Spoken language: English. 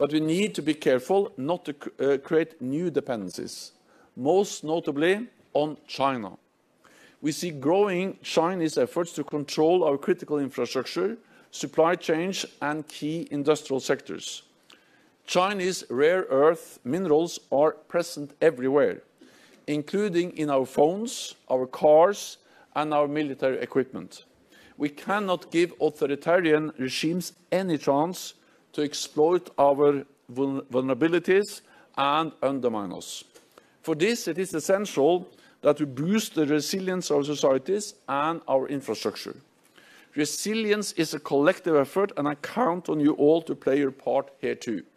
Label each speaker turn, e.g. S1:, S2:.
S1: but we need to be careful not to create new dependencies, most notably on China. We see growing Chinese efforts to control our critical infrastructure, supply chains, and key industrial sectors. Chinese rare earth minerals are present everywhere, including in our phones, our cars, and our military equipment. We cannot give authoritarian regimes any chance to exploit our vulnerabilities and undermine us. For this, it is essential that we boost the resilience of our societies and our infrastructure. Resilience is a collective effort, and I count on you all to play your part here too.